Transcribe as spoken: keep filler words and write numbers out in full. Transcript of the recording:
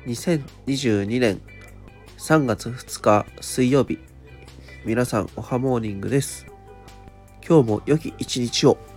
にせんにじゅうにねんさんがつふつか水曜日、皆さんおはモーニングです。今日も良き一日を。